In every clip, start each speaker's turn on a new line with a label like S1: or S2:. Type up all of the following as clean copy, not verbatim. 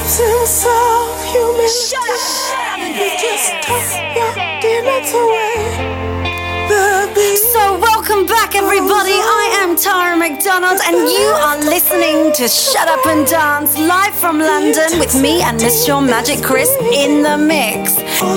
S1: absence of humanity. You just took your demons away. So welcome back everybody, I am Tara McDonald and you are listening to Shut Up and Dance live from London with me and Miss Shawn Magic Chris in the mix.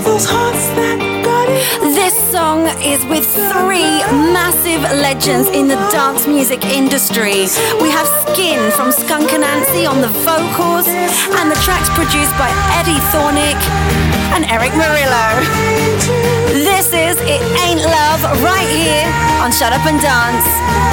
S1: This song is with three massive legends in the dance music industry. We have Skin from Skunk Anansie on the vocals and the track's produced by Eddie Thornick and Eric Murillo. This is It Ain't Love right here on Shut Up and Dance.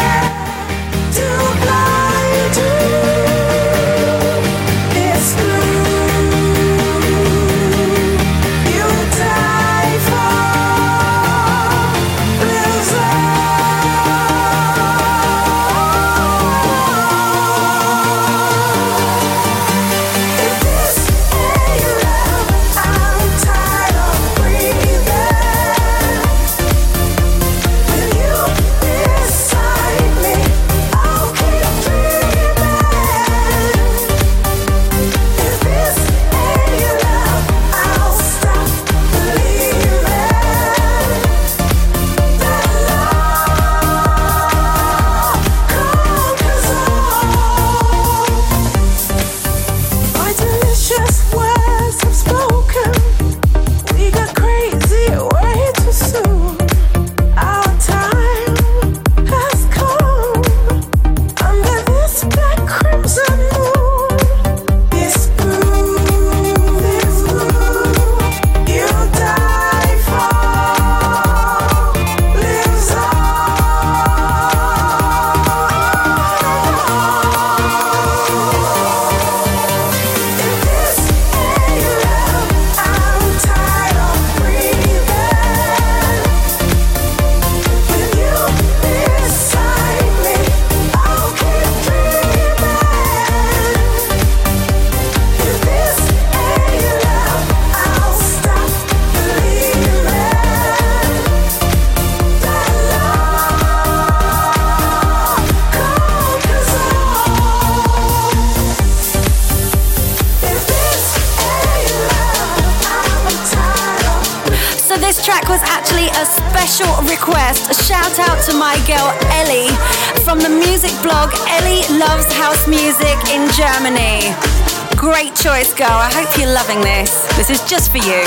S1: Request. A shout out to my girl Ellie from the music blog Ellie Loves House Music in Germany. Great choice, girl. I hope you're loving this. This is just for you.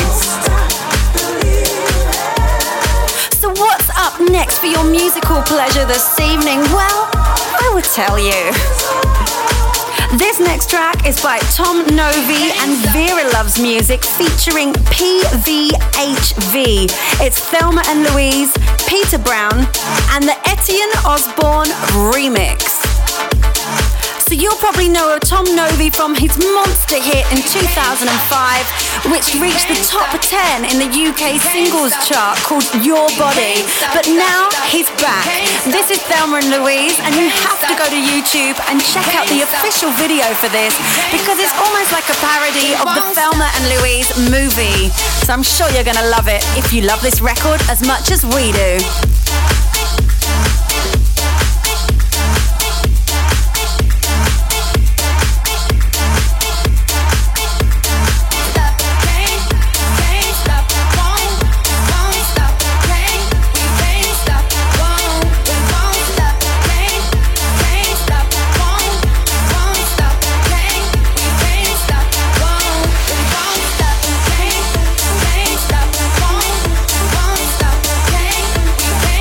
S1: So what's up next for your musical pleasure this evening? Well, I will tell you. This next track is by Tom Novi and Vera Loves Music featuring PVHV. It's Thelma and Louise, Peter Brown, and the Etienne Osborne remix. So you'll probably know of Tom Novi from his monster hit in 2005, which reached the top 10 in the UK singles chart called Your Body. But now he's back. This is Thelma and Louise, and you have to go to YouTube and check out the official video for this because it's almost like a parody of the Thelma and Louise movie. So I'm sure you're gonna love it if you love this record as much as we do.
S2: Can't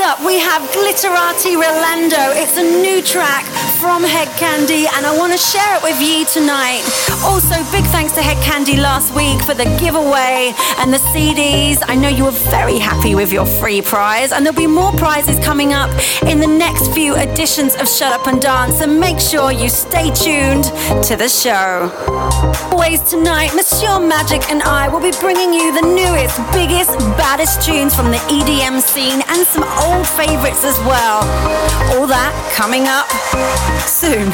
S1: up, we have Glitterati Rolando. It's a new track from Head Candy, and I want to share it with you tonight. Also, big thanks to Head Candy last week for the giveaway and the CDs. I know you were very happy with your free prize, and there'll be more prizes coming up in the next few editions of Shut Up and Dance, so make sure you stay tuned to the show. Always tonight, Monsieur Magic and I will be bringing you the newest, biggest, baddest tunes from the EDM scene and some old favorites as well. All that coming up soon.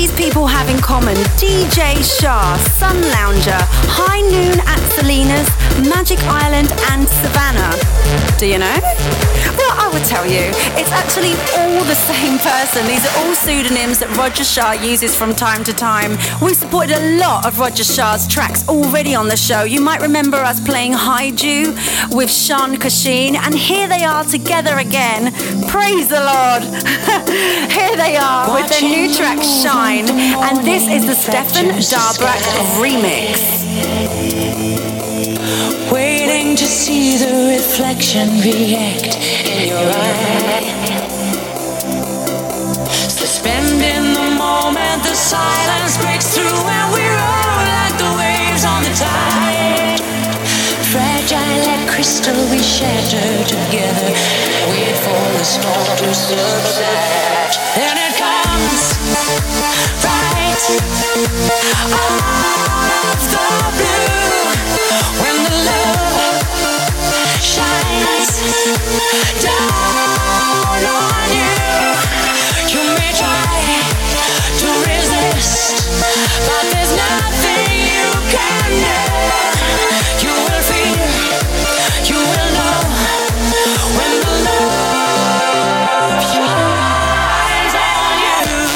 S1: these people have in common? DJ Shah, Sun Lounger, High Noon at Selena's, Magic Island and Savannah. Do you know? Well, I would tell you, it's actually all the same person. These are all pseudonyms that Roger Shah uses from time to time. We supported a lot of Roger Shah's tracks already on the show. You might remember us playing Haiju with Sean Kashin, and here they are together again. Praise the Lord. Here they are with their new track Shine, and this is the Stefan Darbrak remix.
S2: Waiting to see the reflection react in your eye. Suspending the moment, the silence breaks through, and we roll like the waves on the tide. Fragile like crystal, we shatter together, wait for the storm to subside. Then it comes right out of the blue, when the love shines down on you. You may try to resist, but there's nothing you can do. You will feel, you will know, when the love shines on you.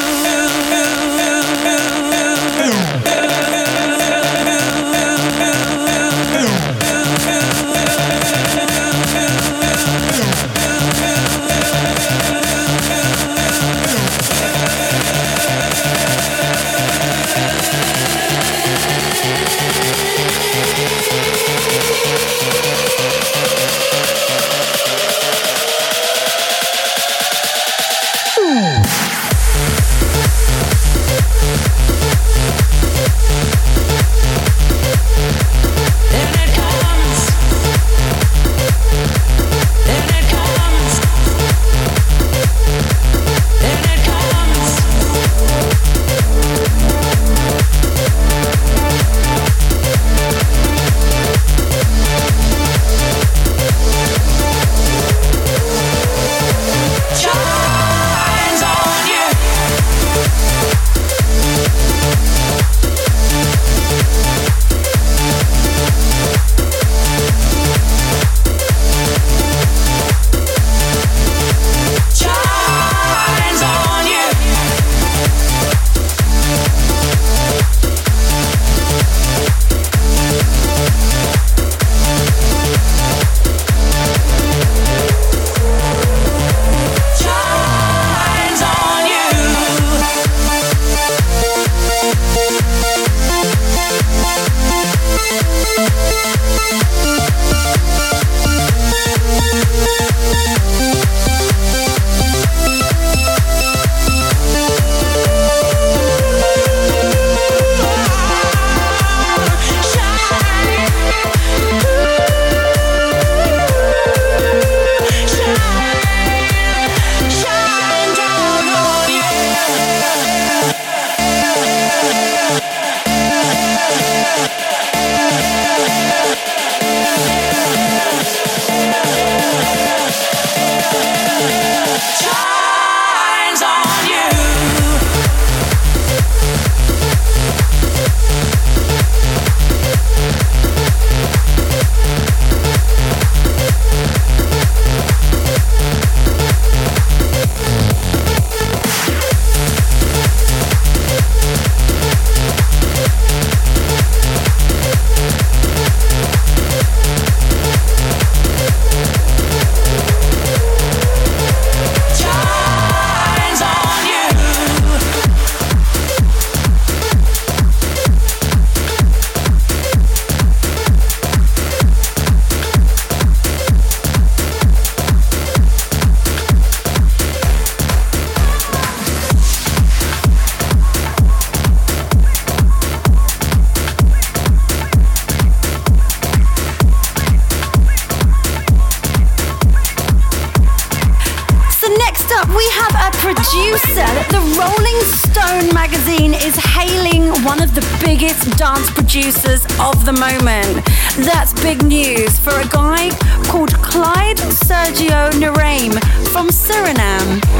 S1: producer. The Rolling Stone magazine is hailing one of the biggest dance producers of the moment. That's big news for a guy called Clyde Sergio Naraim from Suriname. But you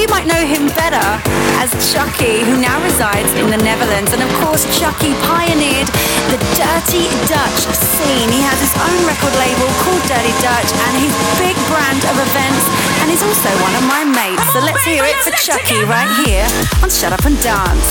S1: you might know him better as Chuckie, who now resides in the Netherlands. And of course, Chuckie pioneered the Dirty Dutch scene. He has his own record label called Dirty Dutch and his big brand of events, and he's also one of my mates. So let's hear it for Chuckie right here on Shut Up and Dance.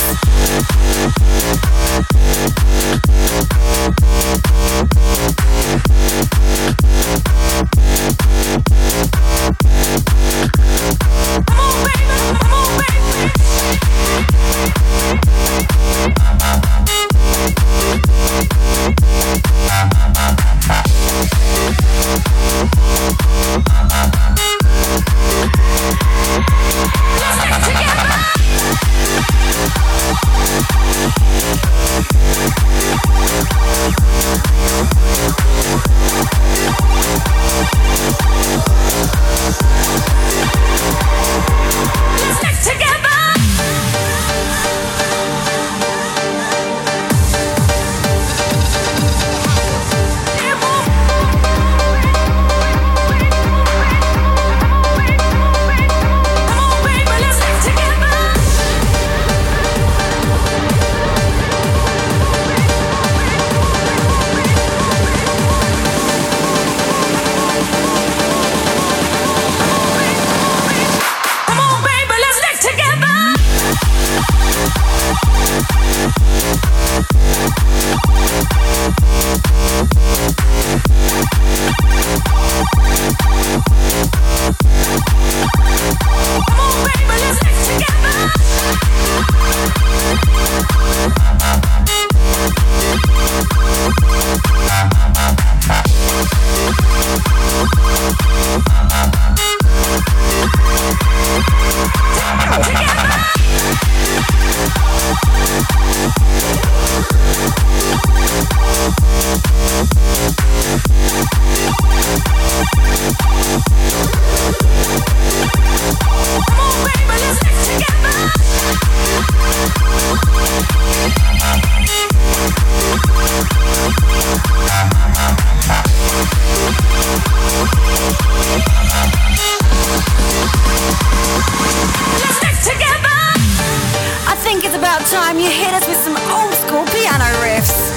S1: Time you hit us with some old school piano riffs.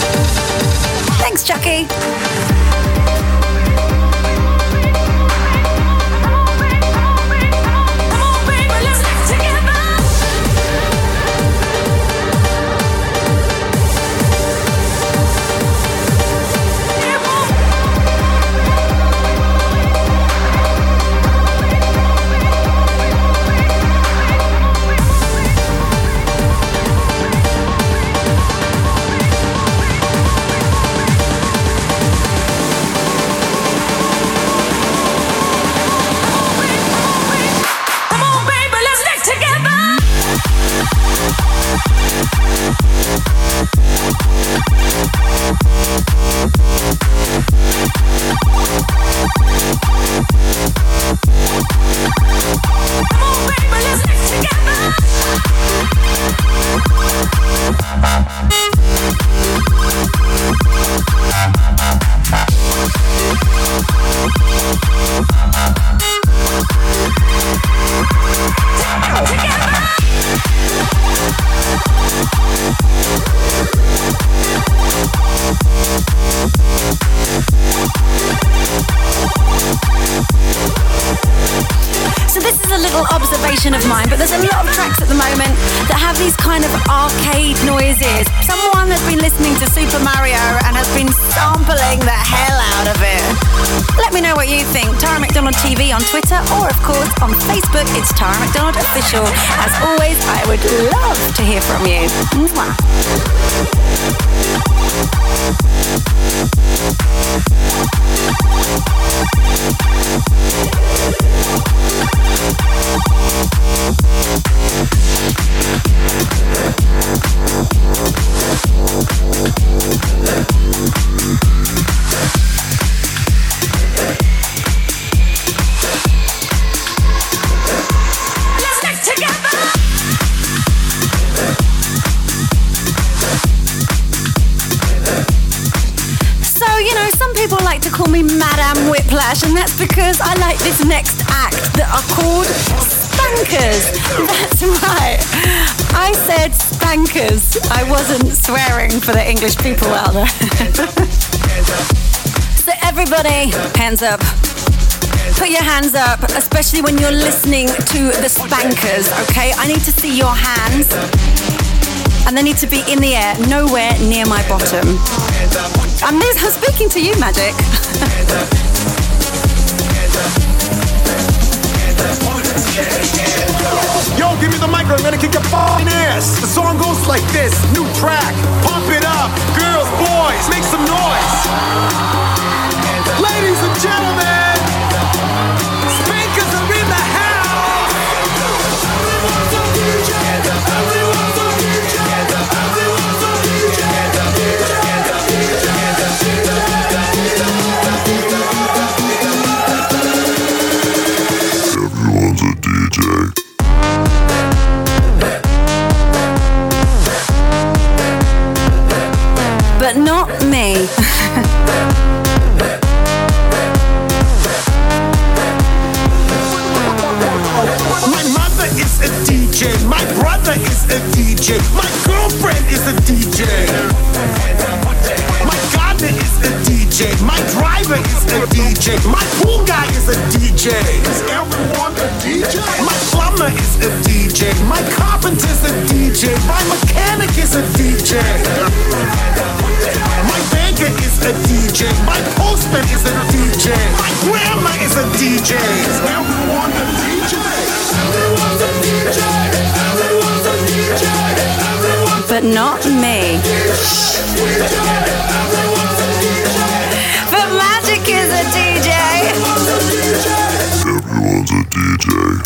S1: Thanks, Chuckie. Of mine, but there's a lot of tracks at the moment that have these kind of arcade noises. Someone has been listening to Super Mario and has been sampling the hell out of it. Let me know what you think. Tara McDonald TV on Twitter, or of course on Facebook, it's Tara McDonald Official. As always, I would love to hear from you. Mwah. me Madame Whiplash, and that's because I like this next act that are called Spankers. That's right. I said spankers. I wasn't swearing for the English people out there. So everybody, hands up. Put your hands up, especially when you're listening to the spankers, okay? I need to see your hands. And they need to be in the air, nowhere near my bottom. I'm speaking to you, Magic.
S3: Yo, give me the mic, I'm gonna kick your f***ing ass. The song goes like this, new track, pump it up. Girls, boys, make some noise. Ladies and gentlemen, spankers are in the house. Everyone's a DJ, everyone's a DJ, everyone's a DJ,
S4: Everyone's a DJ.
S1: But not me.
S3: My mother is a DJ, my brother is a DJ, my girlfriend is a DJ. My gardener is a DJ, my driver is a DJ, my pool guy is a DJ. Is everyone a DJ? My plumber is a DJ, my carpenter's a DJ, my mechanic is a DJ. My banker is a DJ, my postman is a DJ, my grandma is a DJ. Is everyone a DJ? Everyone's a DJ, everyone's a DJ, everyone's
S1: But not me. But Magic is a DJ.
S4: Everyone's a DJ.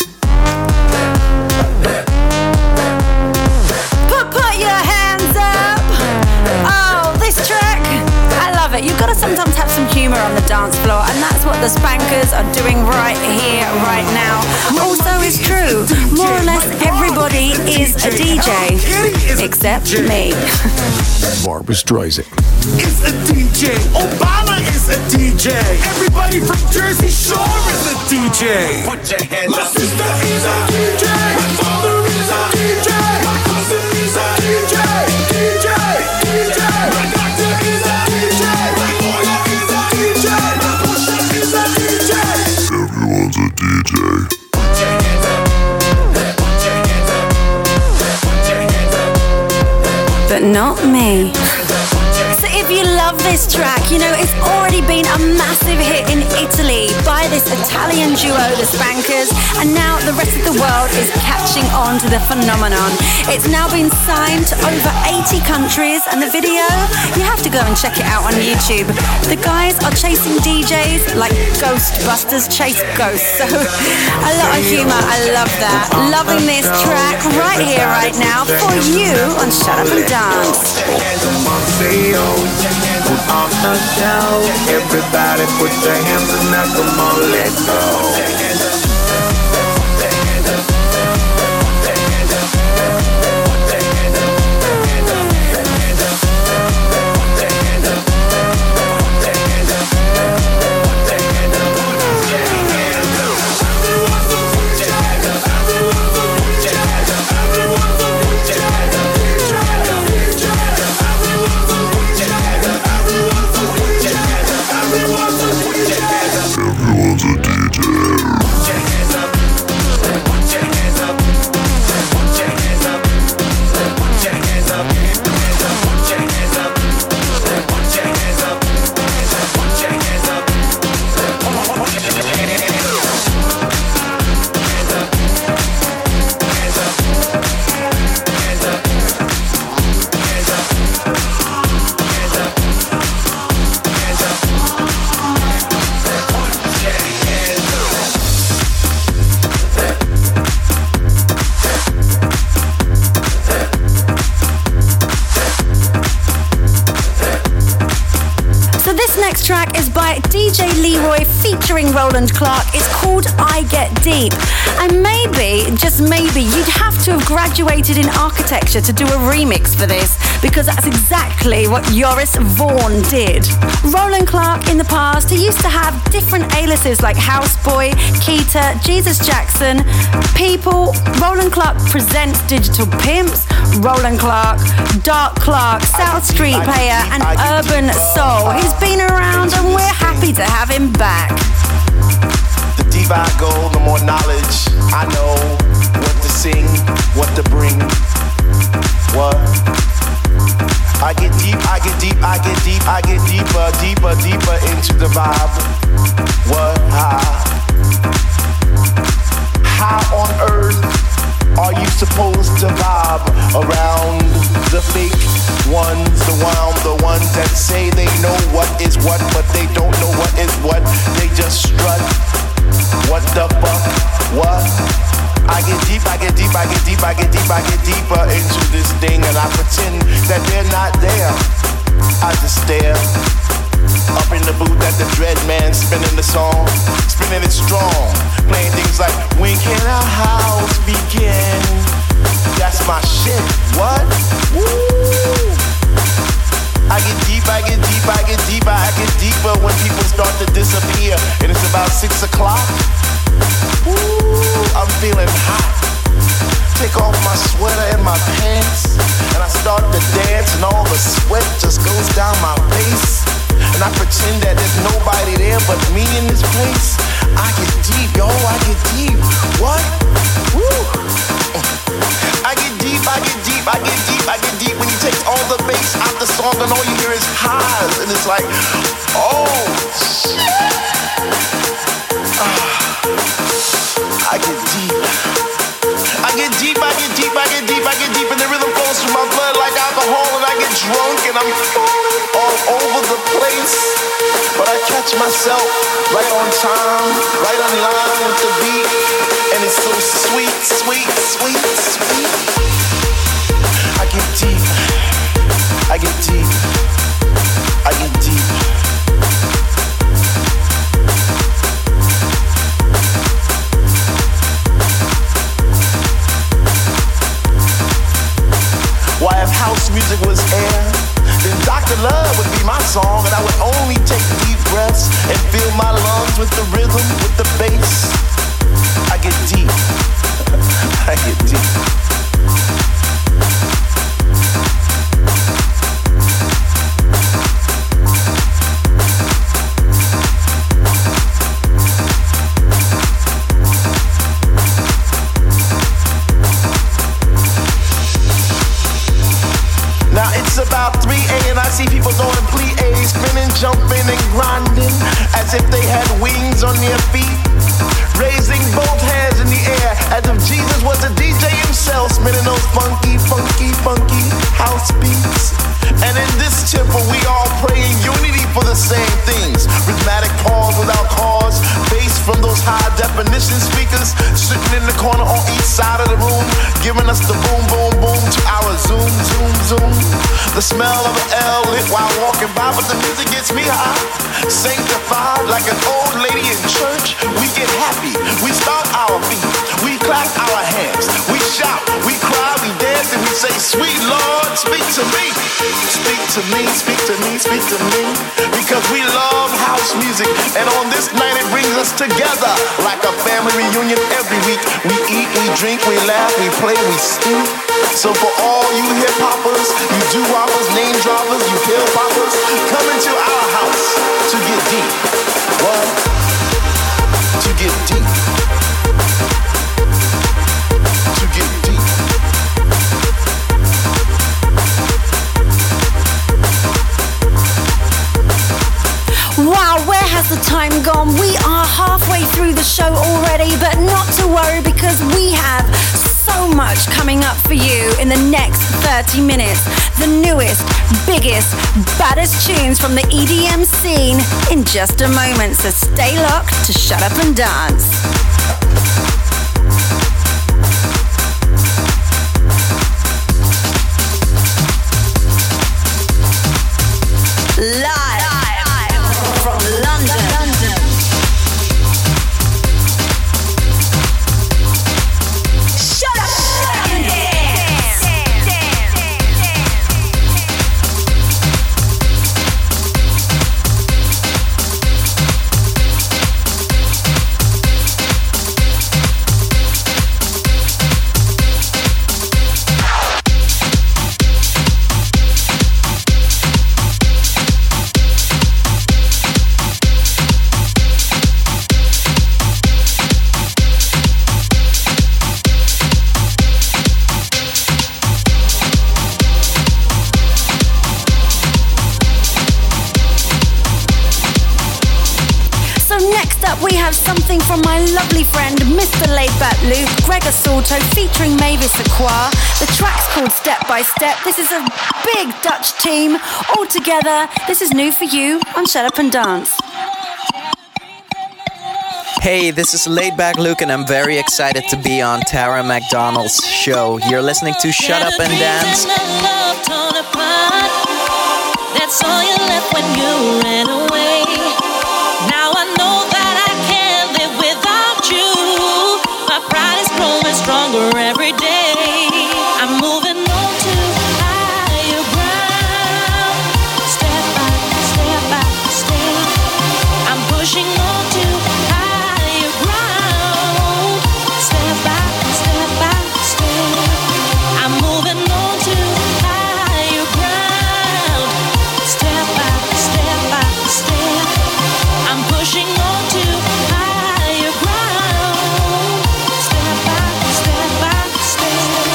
S1: Put your hands up. Oh, this track. I love it. You've got to sometimes have some humor on the dance floor, and that's what the Spankers are doing right here, right now. Also, it's true. More or less everybody is a DJ, except me.
S5: Barbra Streisand
S3: is a DJ. Obama is a DJ. Everybody from Jersey Shore is a DJ. Put your hands up. My sister is a DJ. My father is a DJ. My cousin is a DJ. DJ, DJ. My doctor is a DJ. My lawyer is a DJ. My pusher is a DJ.
S4: Everyone's a DJ.
S3: Put your hands up. Put your hands up. Put your hands up.
S1: But not me. So if you love this track, you know it's already been a massive hit in Italy by this Italian duo, the Spankers, and now the rest of the world is catching on to the phenomenon. It's now been signed to over 80 countries, and the video, you have to go and check it out on YouTube. The guys are chasing DJs like Ghostbusters chase ghosts, so a lot of humor, I love that. Loving this track right here, right now, for you on Shut Up and Dance.
S6: Put on the show. Everybody put your hands and now come on, let's go.
S4: Everyone's a DJ.
S1: DJ Leroy featuring Roland Clark. It's called I Get Deep. And maybe, just maybe, you'd have to have graduated in architecture to do a remix for this, because that's exactly what Joris Vaughan did. Roland Clark in the past, he used to have different aliases like Houseboy, Keita, Jesus Jackson, People. Roland Clark presents Digital Pimps, Roland Clark, Dark Clark, South Street Player, and Urban Soul. He's been around and we're happy to have him back.
S7: The deeper I go, the more knowledge I know. What to sing, what to bring. What? I get deep, I get deep, I get deep, I get deeper, deeper, deeper into the vibe. What? How on earth are you supposed to vibe around the fake ones, the ones that say they know what is what, but they don't know what is what. They just strut. What the fuck? What? I get deep, I get deep, I get deep, I get deep, I get deeper into this thing, and I pretend that they're not there. I just stare up in the booth at the Dread Man, spinning the song, spinning it strong, playing things like when can our house begin? That's my shit. What? Woo! I get deep, I get deep, I get deeper, I get deeper when people start to disappear, and it's about 6 o'clock. Ooh, I'm feeling hot. Take off my sweater and my pants, and I start to dance, and all the sweat just goes down my face. And I pretend that there's nobody there but me in this place. I get deep, yo, I get deep. What? Woo! I get deep, I get deep, I get deep, I get deep when you take all the bass out the song and all you hear is highs, and it's like, oh shit. I get deep. I get deep, I get deep, I get deep, I get deep, and the rhythm flows through my blood like alcohol, and I get drunk and I'm falling all over the place. But I catch myself right on time, right on line with the beat, and it's so sweet, sweet, sweet, sweet. I get deep, I get deep, I get deep. Why, if house music was air, then Dr. Love would be my song, and I would only take deep breaths and fill my lungs with the rhythm, with the bass. I get deep. I get deep. Now it's about 3 a.m. and I see people doing plie, spinning, jumping, and grinding as if they had wings on their feet, raising both hands in the air as if Jesus was a DJ himself, spinning those funky, funky, funky house beats. And in this temple we all pray in unity for the same things. Rhythmic pause without cause, bass from those high definition speakers sitting in the corner on each side of the room, giving us the boom, boom, boom to our zoom, zoom, zoom. The smell of an L lit while walking by, but the music gets me high. Sanctified like an old lady in church, we get happy, we stomp our feet, we clap our hands, we shout, we cry, we dance, and we say, sweet Lord, speak to me. Speak to me, speak to me, speak to me, because we love house music, and on this night it brings us together like a family reunion every week. We eat, we drink, we laugh, we play, we sing. So for all you hip-hoppers, you doo-woppers, name droppers, you pill-poppers, come into our house to get deep. What? To get deep. To get deep.
S1: Wow, where has the time gone? We are halfway through the show already, but not to worry because we have so much coming up for you in the next 30 minutes. The newest, biggest, baddest tunes from the EDM scene in just a moment, so stay locked to Shut Up and Dance. Live from London. something from my lovely friend Mr. Laidback Luke, Gregor Salto featuring Mavis Acquire. The track's called Step by Step. This is a big Dutch team all together. This is new for you on Shut Up and Dance.
S8: Hey, this is Laidback Luke and I'm very excited to be on Tara McDonald's show. You're listening to Shut Up and Dance.
S2: That's all you left when you ran away. Now I know that I can't live without you. My pride is growing stronger every day. I'm moving on to higher ground. Step by step, I'm pushing on to higher ground. Step by step, I'm moving on to higher ground. Step by step, I'm pushing on to higher ground. Step by step.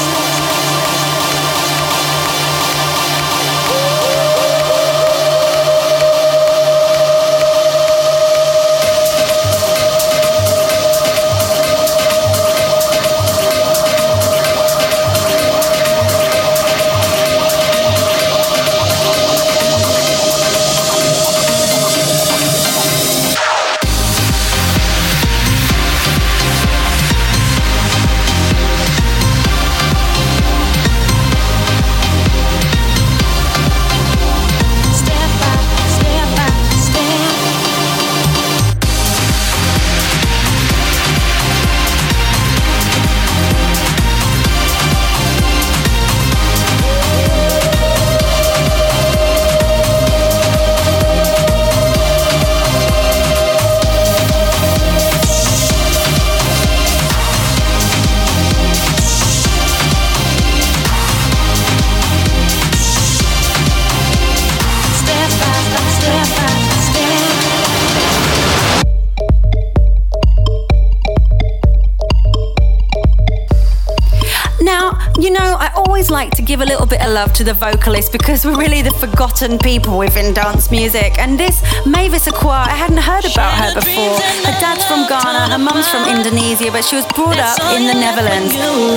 S2: Like to give a little bit of love to the vocalist because we're really the forgotten people within dance music. And this Mavis Acquire, I hadn't heard about her before. Her dad's from Ghana, her mum's from Indonesia, but she was brought up in the Netherlands.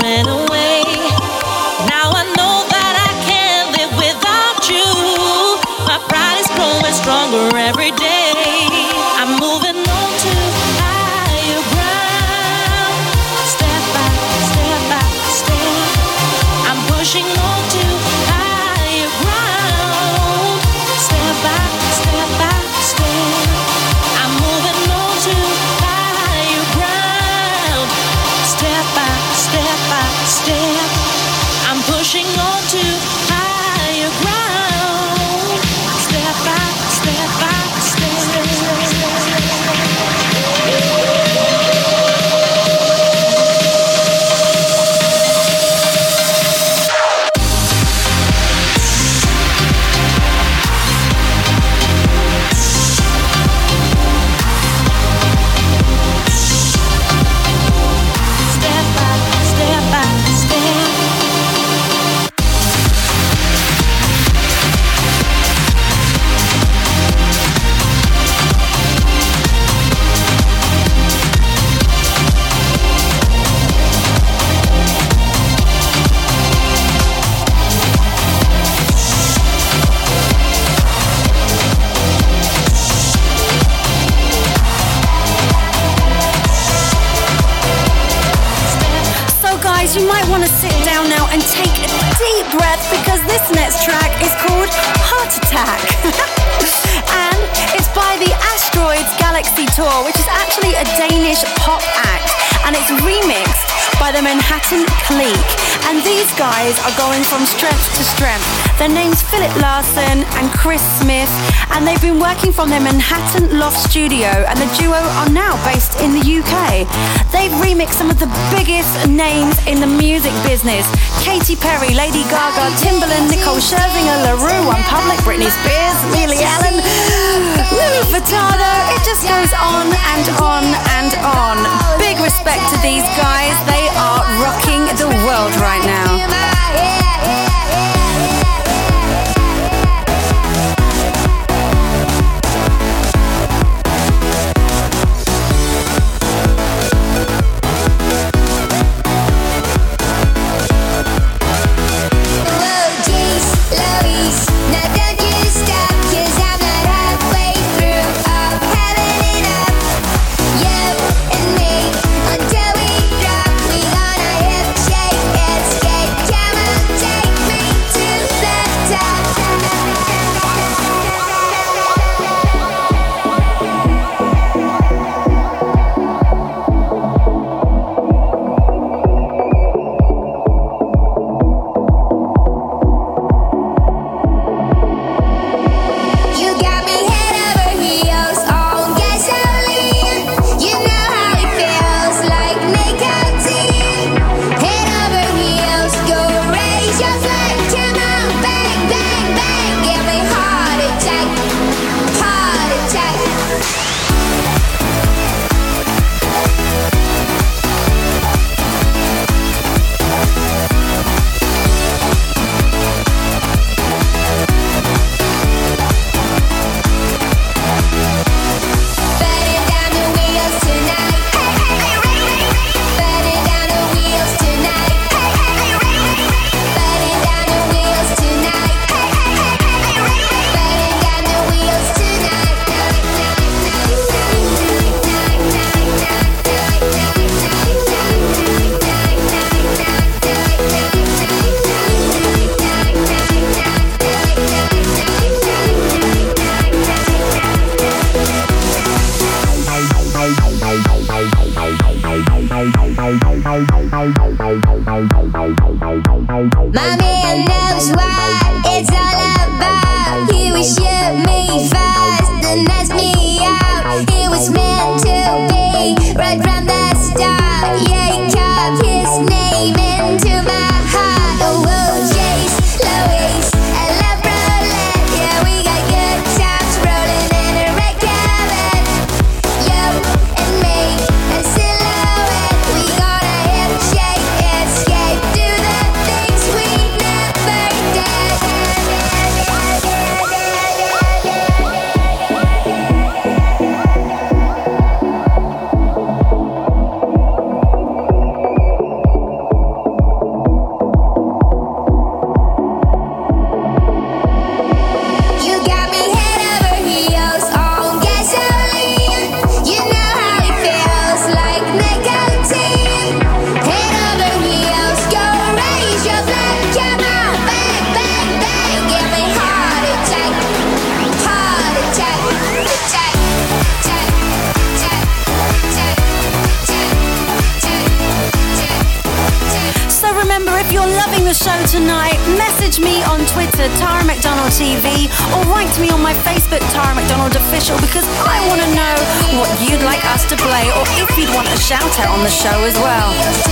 S2: Now I know that I can't live without you. My pride is growing stronger every day. I'm moving on to higher ground. Step by step, I'm pushing on to higher ground. Step by step, I'm moving on to higher ground. Step by step, I'm pushing on to higher ground. Step by step.
S1: You might want to sit down now and take a deep breath because this next track is called Heart Attack. And it's by the Asteroids Galaxy Tour, which is actually a Danish pop act. And it's remixed by the Manhattan Clique. And these guys are going from strength to strength. Their name's Philip Larson and Chris Smith. And they've been working from their Manhattan Loft studio. And the duo are now based in the UK. They've remixed some of the biggest names in the music business. Katy Perry, Lady Gaga, Timbaland, Nicole Scherzinger, La Rue, One Public, Britney Spears, Lily Allen, Louis Vuitton. It just goes on and on and on. Big respect to these guys. They are rocking the world right now.
S9: My man knows what it's all about. He would shoot me fast and ask me out. It was meant to be right from the start. Yeah, he carved his name into my heart. Oh, Jace, Louise, I love roulette. Yeah, we got good times rolling in a red carpet. You and me, a silhouette. We gonna hip shake, escape, do the things we never did. You got me head over heels on gasoline. You know how it feels like nicotine. Head over heels, go raise your flag. Come on, bang, bang, bang. Give me heart attack, heart attack, attack, attack, attack, attack.
S1: So remember, if you're loving the show tonight, message me on Twitter, Tara McDonald TV, or write to me on my Facebook, Tara McDonald Official, because I want to know what you'd like us to play, or if you'd want a shout out on the show as well.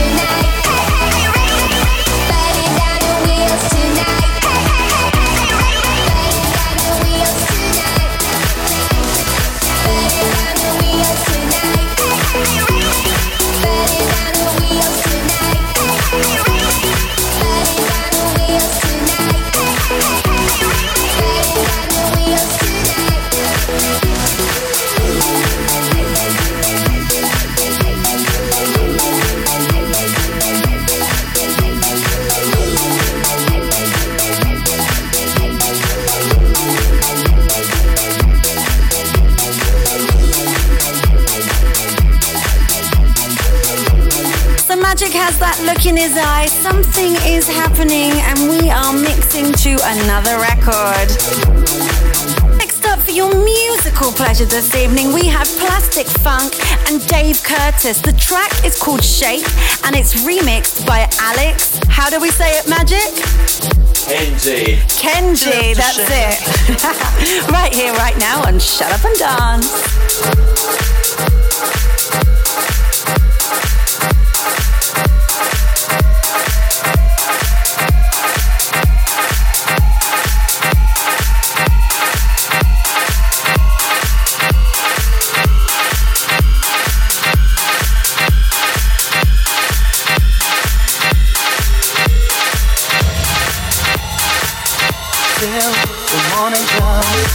S1: So Magic has that look in his eye. Something is happening, and we are mixing to another record. Next up for your musical pleasure this evening, we have Plastic Funk and Dave Curtis. The track is called Shape, and it's remixed by Alex. How do we say it, Magic? Kenji, that's it. Right here, right now on Shut Up and Dance.
S10: Till the morning comes.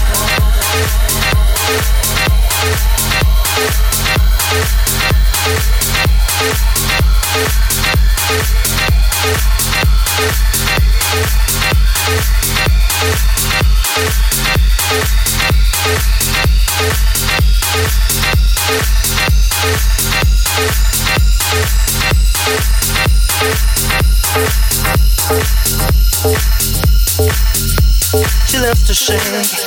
S10: She loves to shake.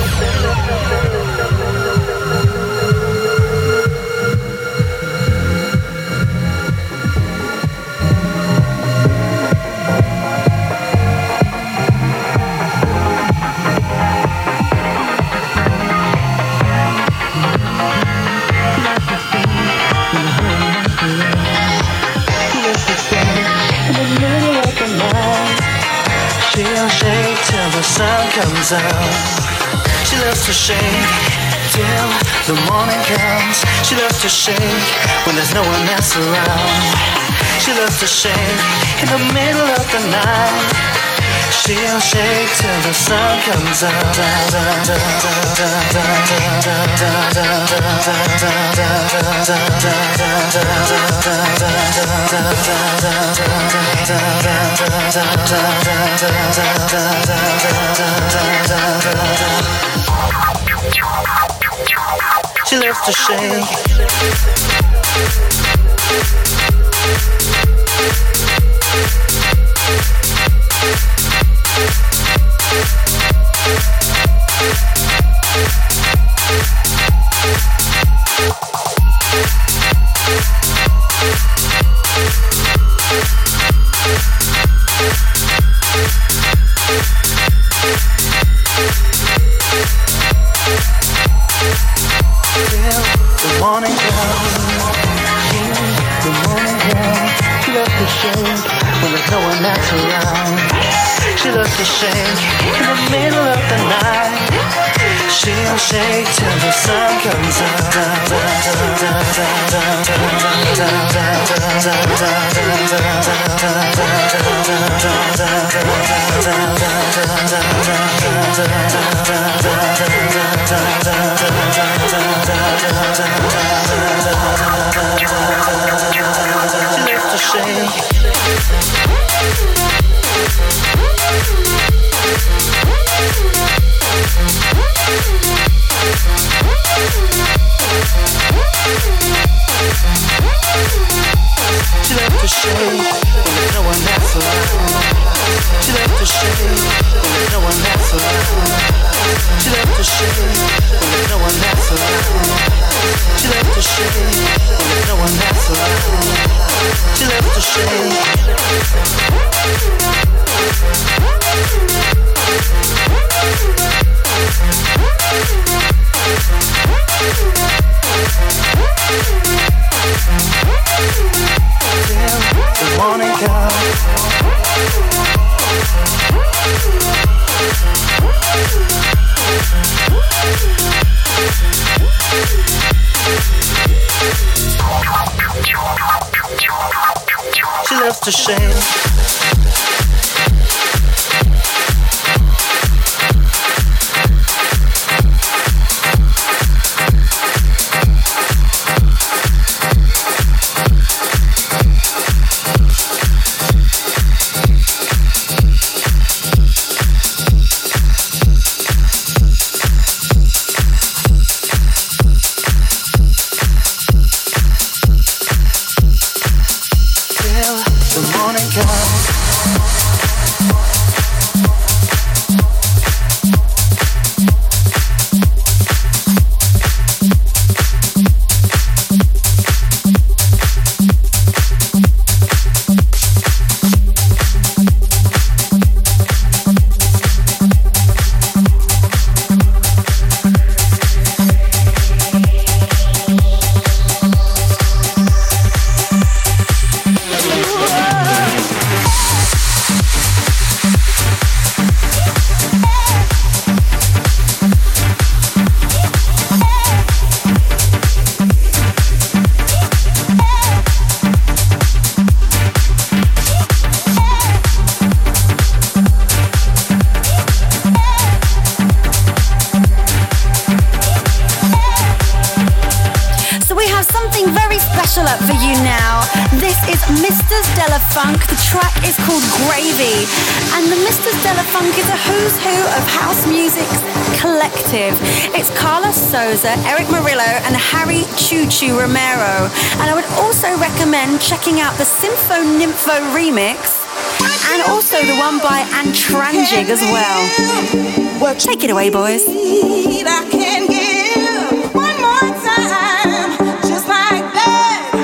S10: She'll shake till the sun comes out. She loves to shake till the morning comes. She loves to shake when there's no one else around. She loves to shake in the middle of the night. She'll shake till the sun comes out. She loves to shake. to shake when there's no one else around. She loves to shake in the middle of the night. She'll shake till the sun comes out. She loves to shake. She loves to shake when there's no one else around. She loves to shake when there's no one else around. She loves to shake when there's no one else around. She loves to shake when there's no one else around. She loves to shake. Till the morning comes. She loves to shake.
S1: Funk. The track is called Gravy, and the Mr. Stella Funk is a who's who of house music's collective. It's Carlos Souza, Eric Murillo, and Harry Choo Choo Romero. And I would also recommend checking out the Sympho Nympho remix, and also the one by Antranjig as well. Take it away, boys.
S11: I can give one more time, just like that.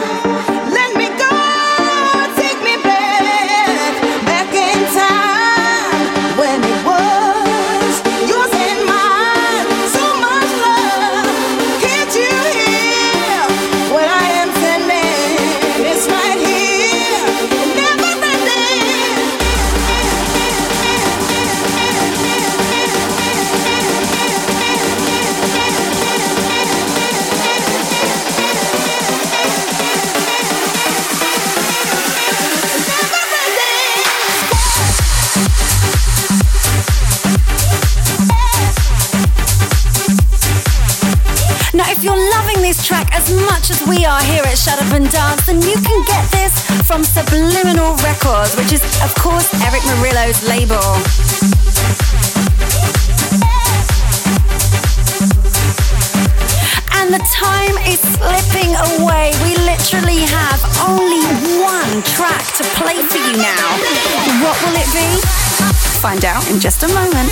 S1: Track as much as we are here at Shut Up and Dance, then you can get this from Subliminal Records, which is of course Eric Murillo's label. And the time is slipping away. We literally have only one track to play for you now. What will it be? Find out in just a moment.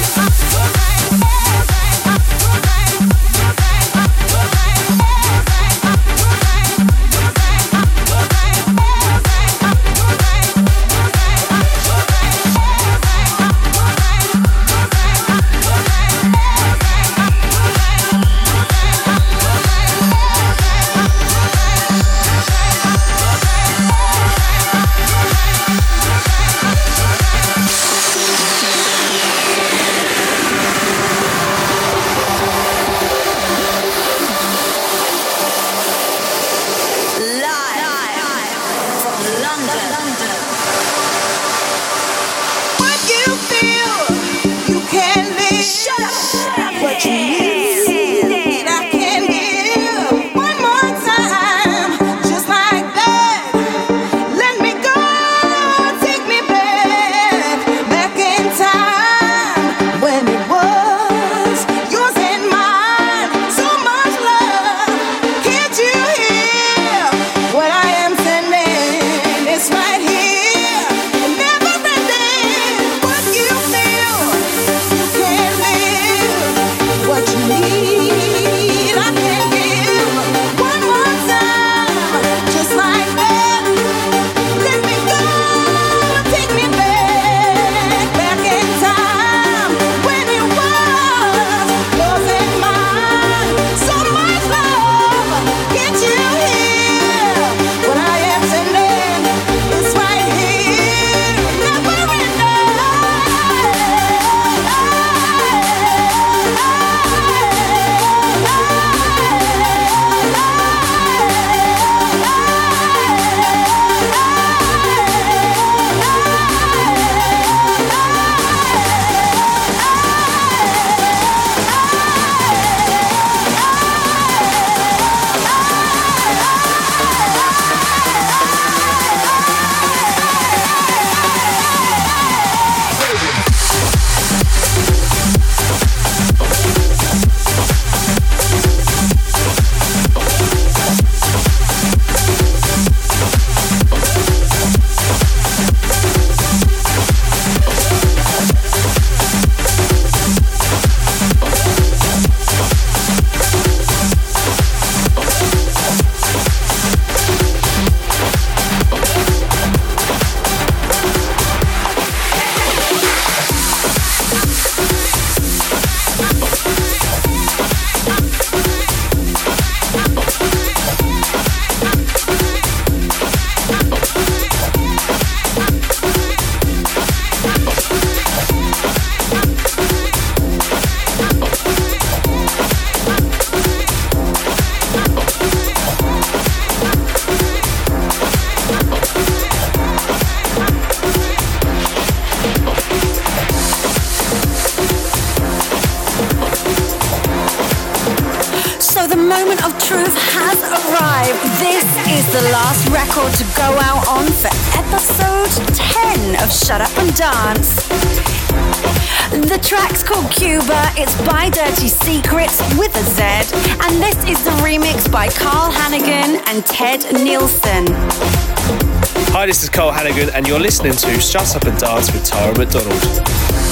S1: believe this is the last record to go out on for episode 10 of Shut Up and Dance. The track's called Cuba, it's by Dirty Secrets with a Z, and this is the remix by Carl Hannigan and Ted Nielsen.
S12: Hi, this is Carl Hannigan, and you're listening to Shut Up and Dance with Tara McDonald.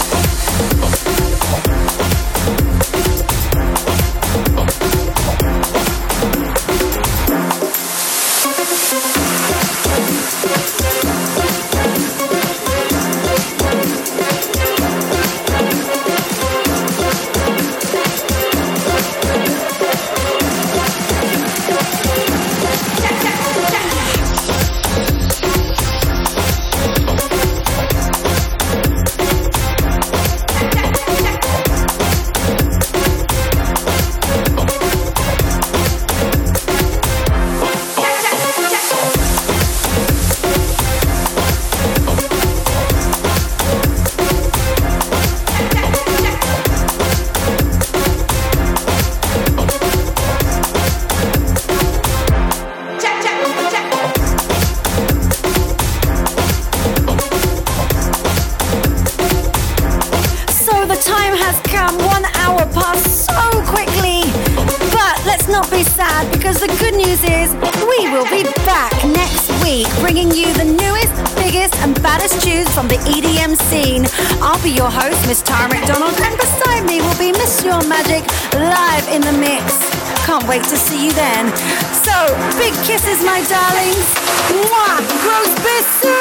S1: Because the good news is we will be back next week bringing you the newest, biggest and baddest tunes from the EDM scene. I'll be your host, Miss Tara McDonald, and beside me will be Miss Your Magic live in the mix. Can't wait to see you then. So, big kisses, my darlings. Mwah! Grosse bisous!